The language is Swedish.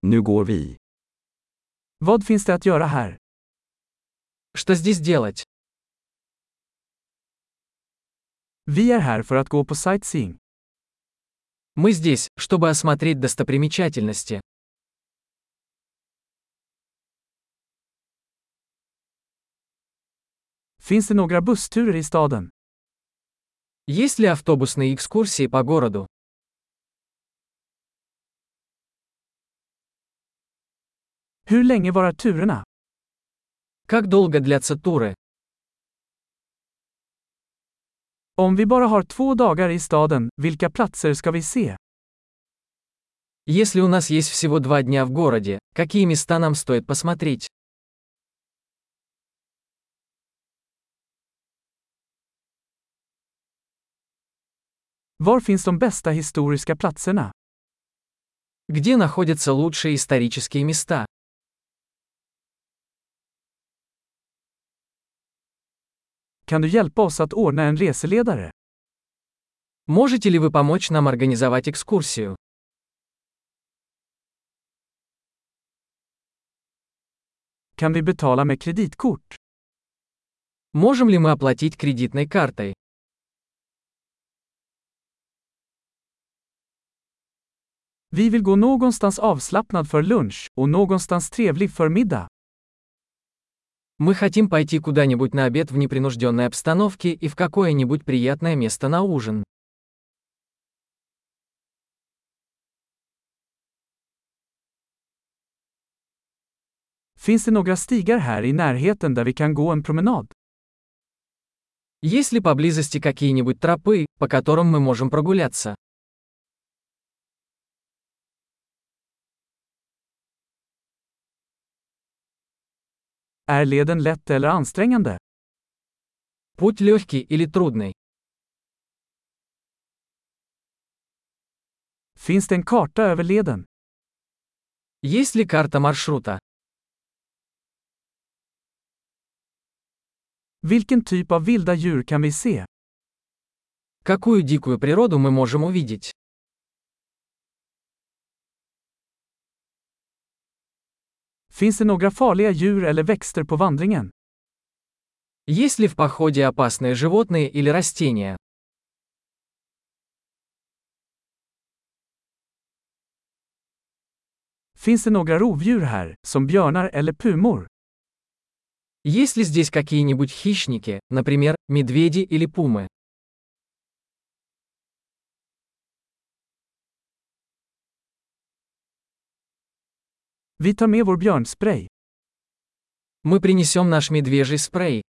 Nu går vi. Vad finns det att göra här? Что здесь делать? Vi är här för att gå på sightseeing. Мы здесь, чтобы осмотреть достопримечательности. Finns det några bussturer i staden? Есть ли автобусные экскурсии по городу? Hur länge varar turerna? Как долго длятся туры? Om vi bara har 2 dagar i staden, vilka platser ska vi se? Если у нас есть всего 2 дня в городе, какие места нам стоит посмотреть? Var finns de bästa historiska platserna? Где находятся лучшие исторические места? Kan du hjälpa oss att ordna en reseledare? Можете ли вы помочь нам организовать экскурсию? Kan vi betala med kreditkort? Можем ли мы оплатить кредитной картой? Vi vill gå någonstans avslappnad för lunch och någonstans trevlig för middag. Мы хотим пойти куда-нибудь на обед в непринужденной обстановке и в какое-нибудь приятное место на ужин. Finns det några stigar här i närheten där vi kan gå en promenad? Есть ли поблизости какие-нибудь тропы, по которым мы можем прогуляться? Är leden lätt eller ansträngande? Путь легкий или трудный? Finns det en karta över leden? Есть ли карта маршрута? Vilken typ av vilda djur kan vi se? Какую дикую природу мы можем увидеть? Finns det några farliga djur eller växter på vandringen? Есть ли в походе опасные животные или растения? Finns det några rovdjur här, som björnar eller pumor? Есть ли здесь какие-нибудь хищники, например, медведи или пумы? Vi tar med vår björnspray. Мы принесем наш медвежий спрей.